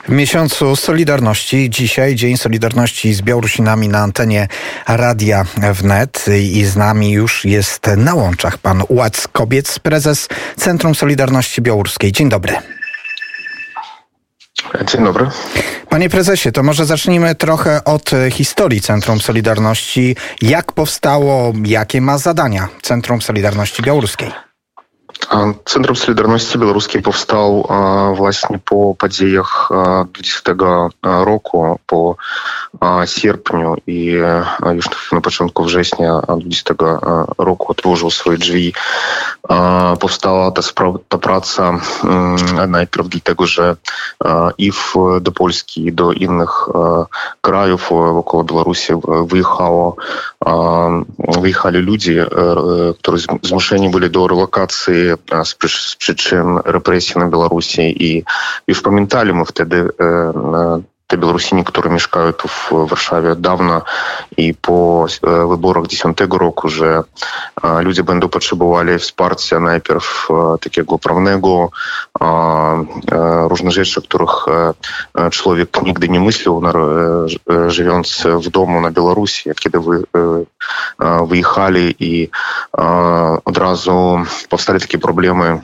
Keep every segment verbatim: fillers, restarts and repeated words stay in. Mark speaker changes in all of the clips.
Speaker 1: W miesiącu Solidarności, dzisiaj Dzień Solidarności z Białorusinami na antenie Radia Wnet i z nami już jest na łączach pan Łac Kobiec, prezes Centrum Solidarności Białoruskiej. Dzień dobry.
Speaker 2: Dzień dobry.
Speaker 1: Panie prezesie, to może zacznijmy trochę od historii Centrum Solidarności. Jak powstało, jakie ma zadania Centrum Solidarności Białoruskiej?
Speaker 2: Centrum Solidarności Białoruskiej powstał właśnie po podziejach dwudziestego roku, po sierpniu i już na początku września dwudziestego roku otworzył swoje drzwi. Powstała ta, spra- ta praca najpierw dlatego, że i w, do Polski, i do innych krajów wokół Białorusi wyjechało, wyjechali ludzie, którzy zmuszeni byli do relokacji z, przy, z przyczyn represji na Białorusi i już pamiętali my wtedy te Białorusini, które mieszkają tu w Warszawie dawno i po wyborach dziesiątego roku, że ludzie będą potrzebowali wsparcia najpierw takiego prawnego, różne rzeczy, których człowiek nigdy nie myślał, żyjąc w domu na Białorusi, kiedy wy, wyjechali i od razu powstali takie problemy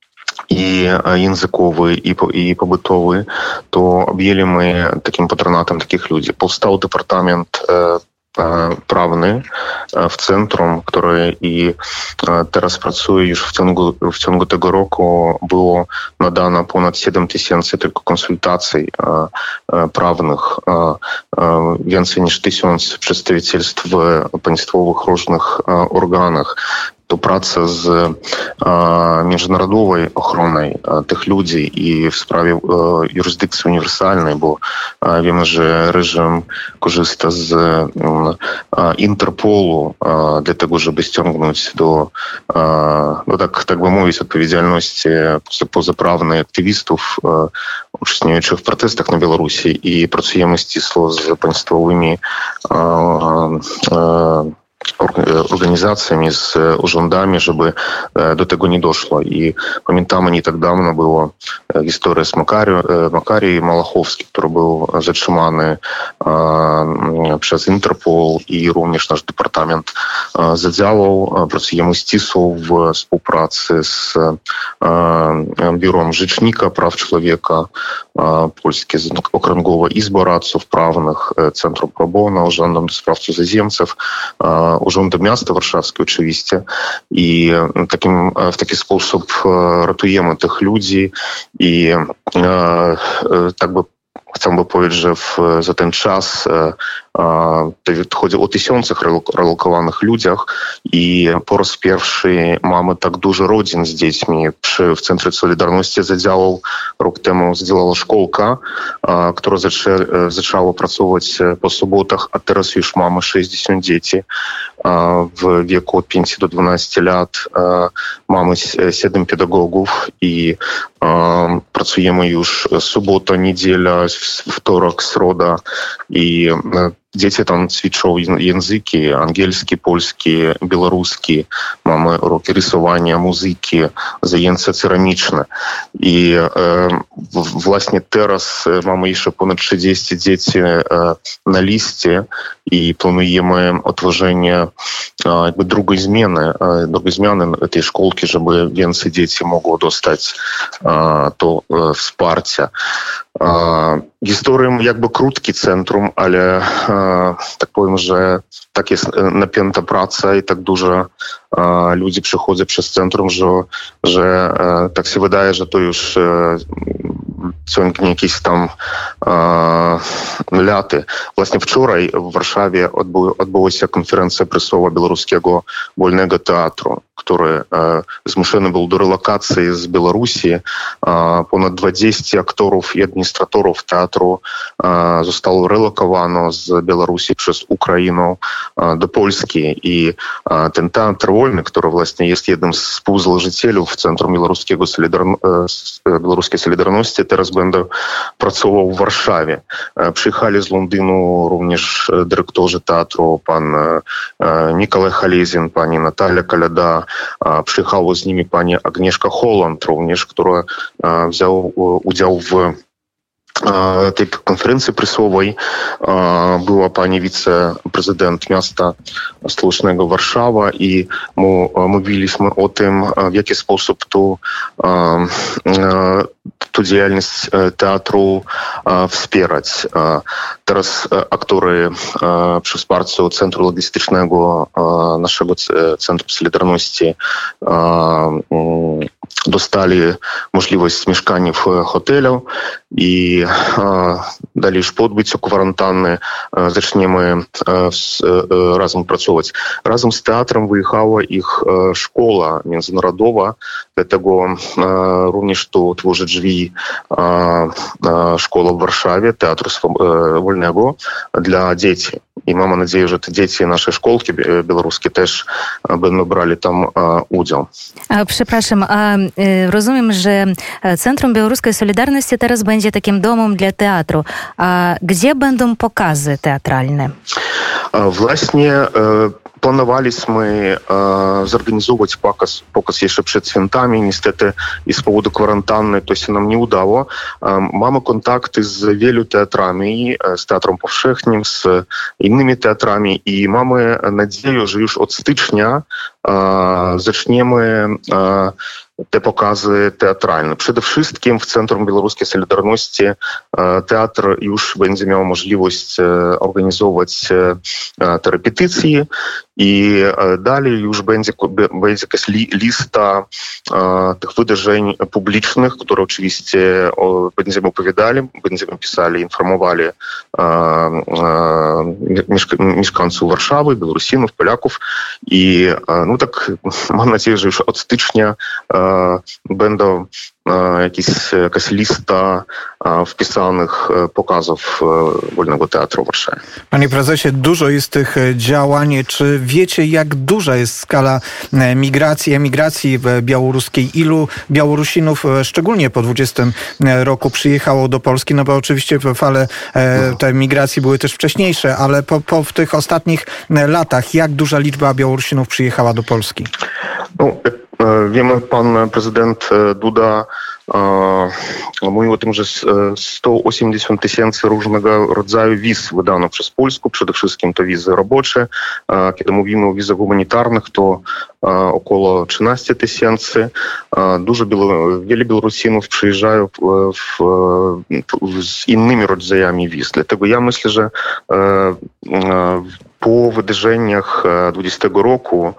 Speaker 2: i językowy, i, i pobytowy, to objęli my takim patronatem takich ludzi. Powstał Departament e, Prawny w centrum, który i teraz pracuje już w ciągu, w ciągu tego roku. Było nadano ponad siedem tysięcy tylko konsultacji e, prawnych, e, e, więcej niż tysiąc przedstawicielstw w państwowych różnych e, organach. To praca z e, międzynarodowej ochroną e, tych ludzi i w sprawie e, jurysdykcji uniwersalnej, bo e, wiemy, że reżim korzysta z e, Interpolu e, dla tego, żeby ściągnąć do, e, no tak, tak by mówić, odpowiedzialności pozaprawnej aktywistów e, uczestniczących w protestach na Białorusi i pracujemy ścisło z państwowymi e, e, organizacjami, z urzędami, żeby do tego nie doszło. I pamiętamy, nie tak dawno była historia z Makari, Makari Malachowski, który był zatrzymany przez Interpol i również nasz departament zadziałał. Pracujemy ścisło w współpracy z Biurem Rzecznika Praw Człowieka Polskie, Okręgowa Izba Radców Prawnych, Centrum Pro Bono, Urzędem do Spraw Cudzoziemców, Urzędem Miasta Warszawskiego oczywiście i takim, w taki sposób ratujemy tych ludzi i e, tak by chciałbym powiedzieć, że w, za ten czas e, e, chodzi o tysiącach relokowanych ludziach i po raz pierwszy mamy tak dużo rodzin z dziećmi. Przy, w Centrum Solidarności zadziałał rok temu, zadziałała szkołka, e, która zaczę, e, zaczęła pracować po sobotach, a teraz już mamy sześćdziesiąt dzieci e, w wieku od pięciu do dwunastu lat. E, mamy siedem pedagogów i e, pracujemy już sobota, niedziela, wtorek, środa i dzieci tam ćwiczą języki angielski, polski, białoruski. Mamy uroki rysowania, muzyki, zajęcia ceramiczne. I e, właśnie teraz mamy jeszcze ponad trzydzieści dzieci e, na liście i planujemy otworzenie e, jakby drugiej zmiany, e, drugiej zmiany tej szkołki, żeby więcej dzieci mogło dostać e, to e, wsparcie. E, historią jakby krótki centrum, ale e, tak powiem, że tak jest napięta praca i tak dużo e, ludzi przychodzi przez centrum, że, że e, tak się wydaje, że to już e, ciągnie jakieś tam e, laty. Właśnie wczoraj w Warszawie odbył, odbyła się konferencja prasowa Białoruskiego Wolnego Teatru, który e, zmuszony był do relokacji z Białorusi. E, ponad dwadzieścia aktorów i administratorów teatru e, zostało relokowano z Białorusi przez Ukrainę e, do Polski. I e, ten teatr wolny, który właśnie jest jednym z współzałożycieli Centrum Białoruskiego Solidarno- e, Białoruskiej Solidarności, teraz będę pracował w Warszawie. E, przyjechali z Londynu również dyrektorzy teatru, pan e, Nikolaj Halezin, pani Natalia Kaleda. E, przyjechała z nimi pani Agnieszka Holland również, która e, wzięła udział w tej konferencji prasowej była pani wiceprezydent miasta stołecznego Warszawa i my mówiliśmy o tym, w jaki sposób tu tę działalność teatru wspierać. Teraz aktorzy przy wsparciu Centrum Logistycznego naszego Centrum Solidarności dostali możliwość mieszkania w hotelu i dalej już po odbyciu kwarantanny zaczniemy razem pracować. Razem z teatrem wyjechała ich szkoła międzynarodowa, dlatego również tu tworzy drzwi szkoła w Warszawie, Teatru Wolnego dla dzieci. I mamy nadzieję, że te dzieci naszej szkolki białoruskie też będą brali tam udział.
Speaker 3: Przepraszam, a rozumiem, że Centrum Białoruskiej Solidarności teraz będzie takim domem dla teatru. A gdzie będą pokazy teatralne?
Speaker 2: Właśnie planowaliśmy e, zorganizować pokaz, pokaz jeszcze przed świętami. Niestety i z powodu kwarantanny to się nam nie udało. E, mamy kontakty z wielu teatrami, z Teatrem Powszechnym, z innymi teatrami i mamy nadzieję, że już od stycznia e, zaczniemy e, te pokazy teatralne. Przede wszystkim w Centrum Białoruskiej Solidarności teatr już będzie miał możliwość organizować te repetycje i dalej już będzie, będzie jakaś li, lista tych wydarzeń publicznych, które oczywiście będziemy opowiadali, będziemy pisali, informowali mieszkańców Warszawy, Białorusinów, Polaków i no tak mam nadzieję, że już od stycznia będą jakieś, jakaś lista wpisanych pokazów Wolnego Teatru w Warszawie.
Speaker 1: Panie prezesie, dużo jest tych działań. Czy wiecie, jak duża jest skala migracji, emigracji białoruskiej? Ilu Białorusinów, szczególnie po dwudziestym roku, przyjechało do Polski? No bo oczywiście fale te migracji były też wcześniejsze, ale po, po w tych ostatnich latach, jak duża liczba Białorusinów przyjechała do Polski?
Speaker 2: No, wiemy, pan prezydent Duda mówił o tym, że sto osiemdziesiąt tysięcy różnego rodzaju wiz wydano przez Polskę. Przede wszystkim to wizy robocze. Kiedy mówimy o wizach humanitarnych, to około trzynaście tysięcy. Dużo wiele Białorusinów przyjeżdżają w, w, z innymi rodzajami wiz. Dlatego ja myślę, że po wydarzeniach dwudziestego roku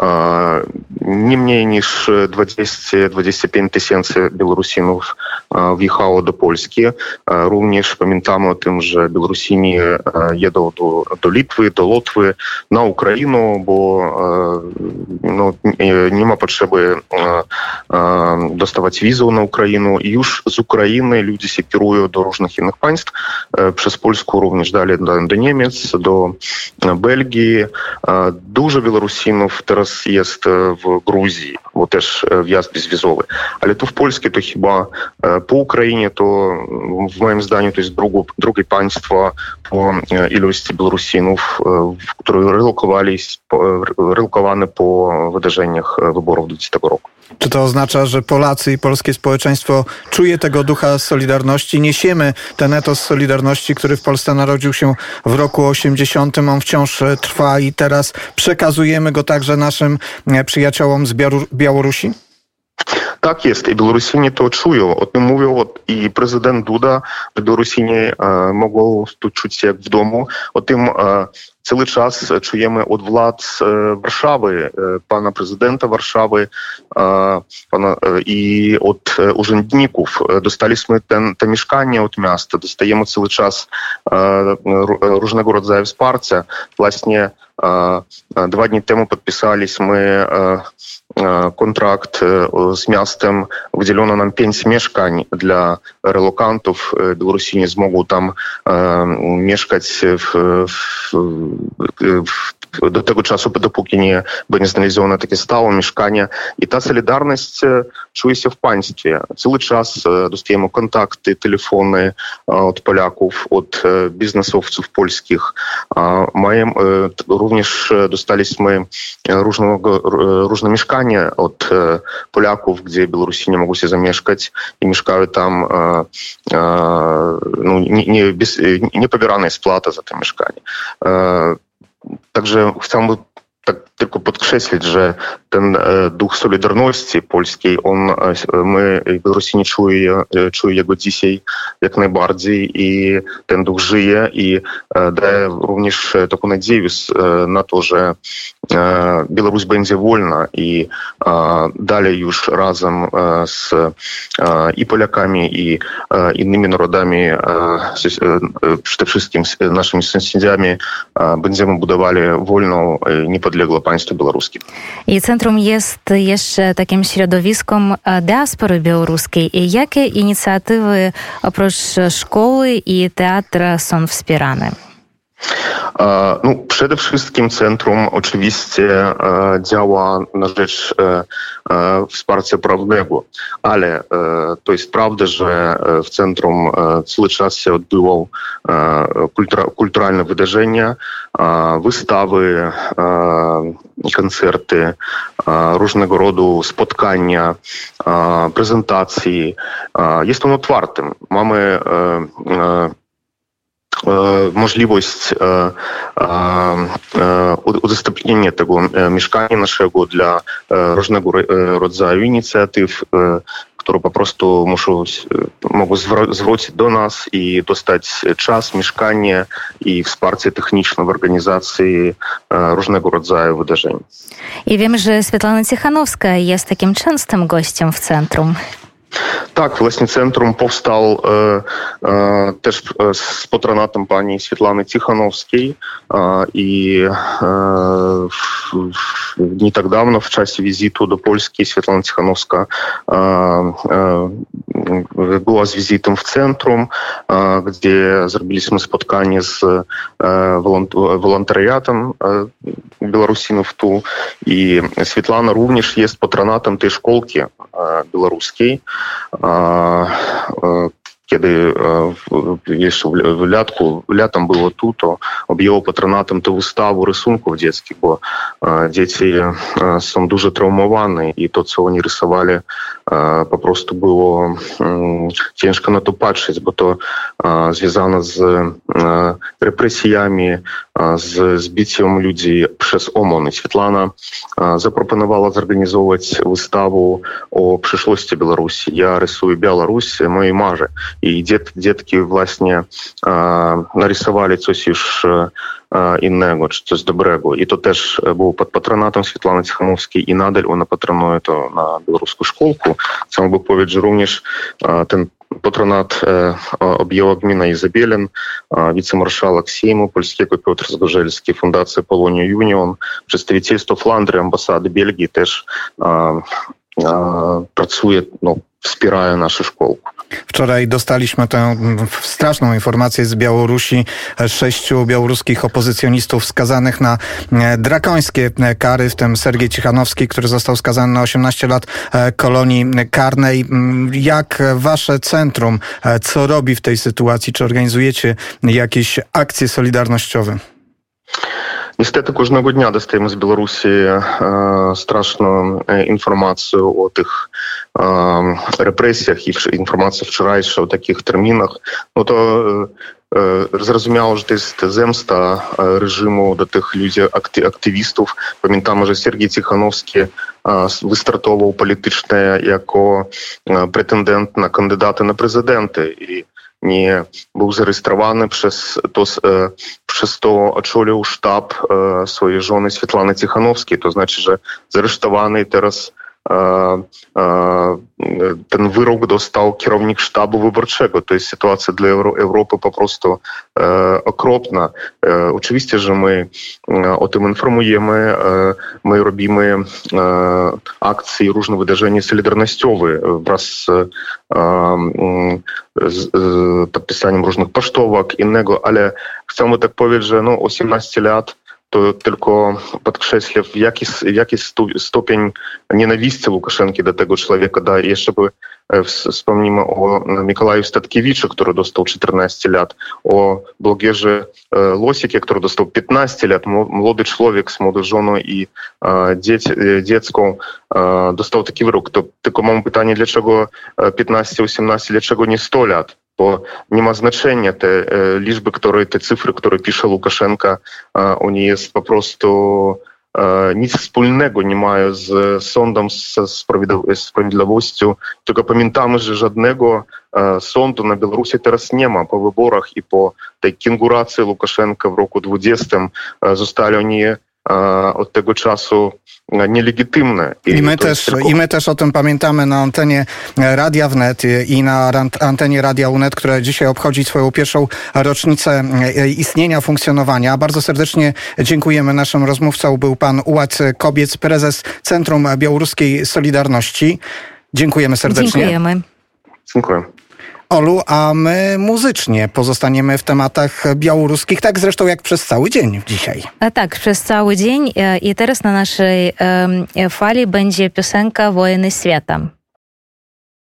Speaker 2: nie mniej niż dwadzieścia do dwudziestu pięciu tysięcy Białorusinów wjechało do Polski. Również pamiętamy o tym, że Białorusini jedą do, do Litwy, do Łotwy, na Ukrainę, bo no, nie ma potrzeby dostawać wizę na Ukrainę i już z Ukrainy ludzie się kierują do różnych innych państw. Przez Polskę również dalej do, do Niemiec, do Belgii. Dużo Białorusinów teraz jest w Gruzji, bo też wjazd bezwizowy. Ale tu w Polsce to chyba po Ukrainie to w moim zdaniu to jest drugie, drugie państwo po ilości Białorusinów, które relokowались, relokowane po wydarzeniach wyborów dwudziestego roku.
Speaker 1: Czy to oznacza, że Polacy i polskie społeczeństwo czuje tego ducha Solidarności? Niesiemy ten etos Solidarności, który w Polsce narodził się w roku osiemdziesiątym. On wciąż trwa i teraz przekazujemy go także naszym przyjaciołom z Białorusi?
Speaker 2: Tak jest i Białorusini to czują. O tym mówią i prezydent Duda, że Białorusini e, mogą tu czuć się jak w domu. O tym e, cały czas czujemy od władz e, Warszawy, e, pana prezydenta Warszawy e, pana, e, i od e, urzędników. Dostaliśmy ten, te mieszkania od miasta, dostajemy cały czas e, różnego rodzaju wsparcia. Właśnie e, dwa dni temu podpisaliśmy e, kontrakt z miastem, wydzielono nam pięć mieszkań dla relokantów. Białorusini mogą tam e, mieszkać w, w, w do tego czasu, dopóki nie będzie znalezione takie stałe mieszkanie. I ta solidarność czuje się w państwie. Cały czas dostajemy kontakty, telefony od Polaków, od biznesowców polskich. Mają, również dostaliśmy różnego, różne mieszkania od Polaków, gdzie Białorusini mogą się zamieszkać i mieszkają tam ну, не, не, без, не побирана сплата за те mieszkanie. Także chciałbym tak tylko podkreślić, że ten e, duch solidarności polskiej, on, e, my, Białorusini, czuje, czuje jego dzisiaj jak najbardziej i ten duch żyje i e, daje również taką nadzieję e, na to, że e, Białoruś będzie wolna i e, dalej już razem e, z e, i Polakami, i e, innymi narodami, e, e, przede wszystkim z naszymi sąsiadami, e, będziemy budowali wolną, e, niepodległą państwo białoruskie.
Speaker 3: I centrum jest jeszcze takim środowiskiem diaspory białoruskiej. I jakie inicjatywy oprócz szkoły i teatra są wspierane?
Speaker 2: No, przede wszystkim centrum oczywiście działa na rzecz wsparcia prawnego, ale to jest prawda, że w centrum cały czas się odbyło kulturalne wydarzenia, wystawy, koncerty, różnego rodzaju spotkania, prezentacje. Jest on otwartym. Mamy możliwość udostępnienia tego mieszkania naszego dla różnego rodzaju inicjatyw, które po prostu muszą, mogą zwrócić do nas i dostać czas, mieszkanie i wsparcie techniczne w organizacji różnego rodzaju wydarzeń.
Speaker 3: I wiem, że Swietlana Cichanowska jest takim częstym gościem w centrum.
Speaker 2: Tak, właśnie centrum powstał e, e, też z patronatem pani Swietlany Cichanowskiej e, i e, w, w, nie tak dawno w czasie wizyty do Polski Swietlana Cichanowska e, e, była z wizytą w centrum, e, gdzie zrobiliśmy spotkanie z e, wolontariatem e, Białorusinów tu i Swietlana również jest patronatem tej szkolki e, białoruskiej. Kiedy jeszcze w latku, latem było tu, to objęło patronatem tę wystawę rysunków dzieckich, bo dzieci są dużo traumowane i to, co oni rysowali, po prostu było ciężko na to patrzeć, bo to związane z represjami, z zbiciem ludzi przez OMON. I Swietlana zaproponowała zorganizować wystawę o przyszłości Białorusi. Ja rysuję Białoruś, moje marzę. I dziet, dzietki właśnie e, narysowali coś już e, innego, czy coś dobrego. I to też było pod patronatem Swietlany Cichanowskiej i nadal ona patronuje to na białoruską szkółkę. Chciałbym powiedzieć, że również e, ten patronat e, objęła gmina Izabielin, e, wicemarszałek Sejmu Polskiego Piotr Zgorzelski, Fundacja Polonia Union, przedstawicielstwo Flandrii, ambasady Belgii też e, e, pracuje, no, wspierają naszą szkołę.
Speaker 1: Wczoraj dostaliśmy tę straszną informację z Białorusi. Sześciu białoruskich opozycjonistów skazanych na drakońskie kary, w tym Sergiej Cichanowski, który został skazany na osiemnaście lat kolonii karnej. Jak wasze centrum, co robi w tej sytuacji? Czy organizujecie jakieś akcje solidarnościowe?
Speaker 2: Niestety każdego dnia dostajemy z Białorusi e, straszną e, informację o tych e, represjach i informacje wczorajsze o takich terminach. No to e, e, zrozumiało, że to jest zemsta reżimu do tych ludzi, akty, aktywistów. Pamiętamy, że Sergiej Cichanowski e, wystartował politycznie jako e, pretendent na kandydata na prezydenty i nie był zarejestrowany, przez to, e, przez to oczolił sztab e, swojej żony Swietlany Cichanowskiej. To znaczy, że zaresztowany teraz e, e, ten wyrok dostał kierownik sztabu wyborczego. To jest sytuacja dla Euro- Europy po prostu e, okropna. E, oczywiście, że my e, o tym informujemy, e, my robimy e, akcje i różne wydarzenia solidarnościowe wraz z e, z podpisaniem różnych pocztówek, innego, ale chcemy tak powiedzieć, że no osiemnaście lat to tylko podkreśla, w jaki, w jaki stopień nienawiści Łukaszenki do tego człowieka daje. Jeszcze by wspomnimy o Mikołaju Statkiewiczu, który dostał czternaście lat, o blogerze Losikie, który dostał piętnaście lat, młody człowiek z młodą żoną i dzieci, dziecką dostał taki wyrok. To tylko mam pytanie, dlaczego piętnaście osiemnaście, dlaczego nie sto lat? bo nie ma znaczenia te liczby, które, te cyfry, które pisze Łukaszenka, oni jest po prostu nic wspólnego nie mają z sądem, ze sprawiedliwością, tylko pamiętamy, że żadnego sądu na Białorusi teraz nie ma po wyborach i po tej kenguracji Łukaszenka w roku dwudziestym zostali oni od tego czasu nielegitymne.
Speaker 1: I, I, my też, tylko... I my też o tym pamiętamy na antenie Radia Wnet i na antenie Radia Unet, które dzisiaj obchodzi swoją pierwszą rocznicę istnienia, funkcjonowania. Bardzo serdecznie dziękujemy. Naszym rozmówcą był pan Ułac Kobiec, prezes Centrum Białoruskiej Solidarności. Dziękujemy serdecznie.
Speaker 3: Dziękujemy.
Speaker 2: Dziękuję.
Speaker 1: Olu, a my muzycznie pozostaniemy w tematach białoruskich, tak zresztą jak przez cały dzień dzisiaj.
Speaker 3: A tak, przez cały dzień i teraz na naszej fali będzie piosenka Wojny Świata.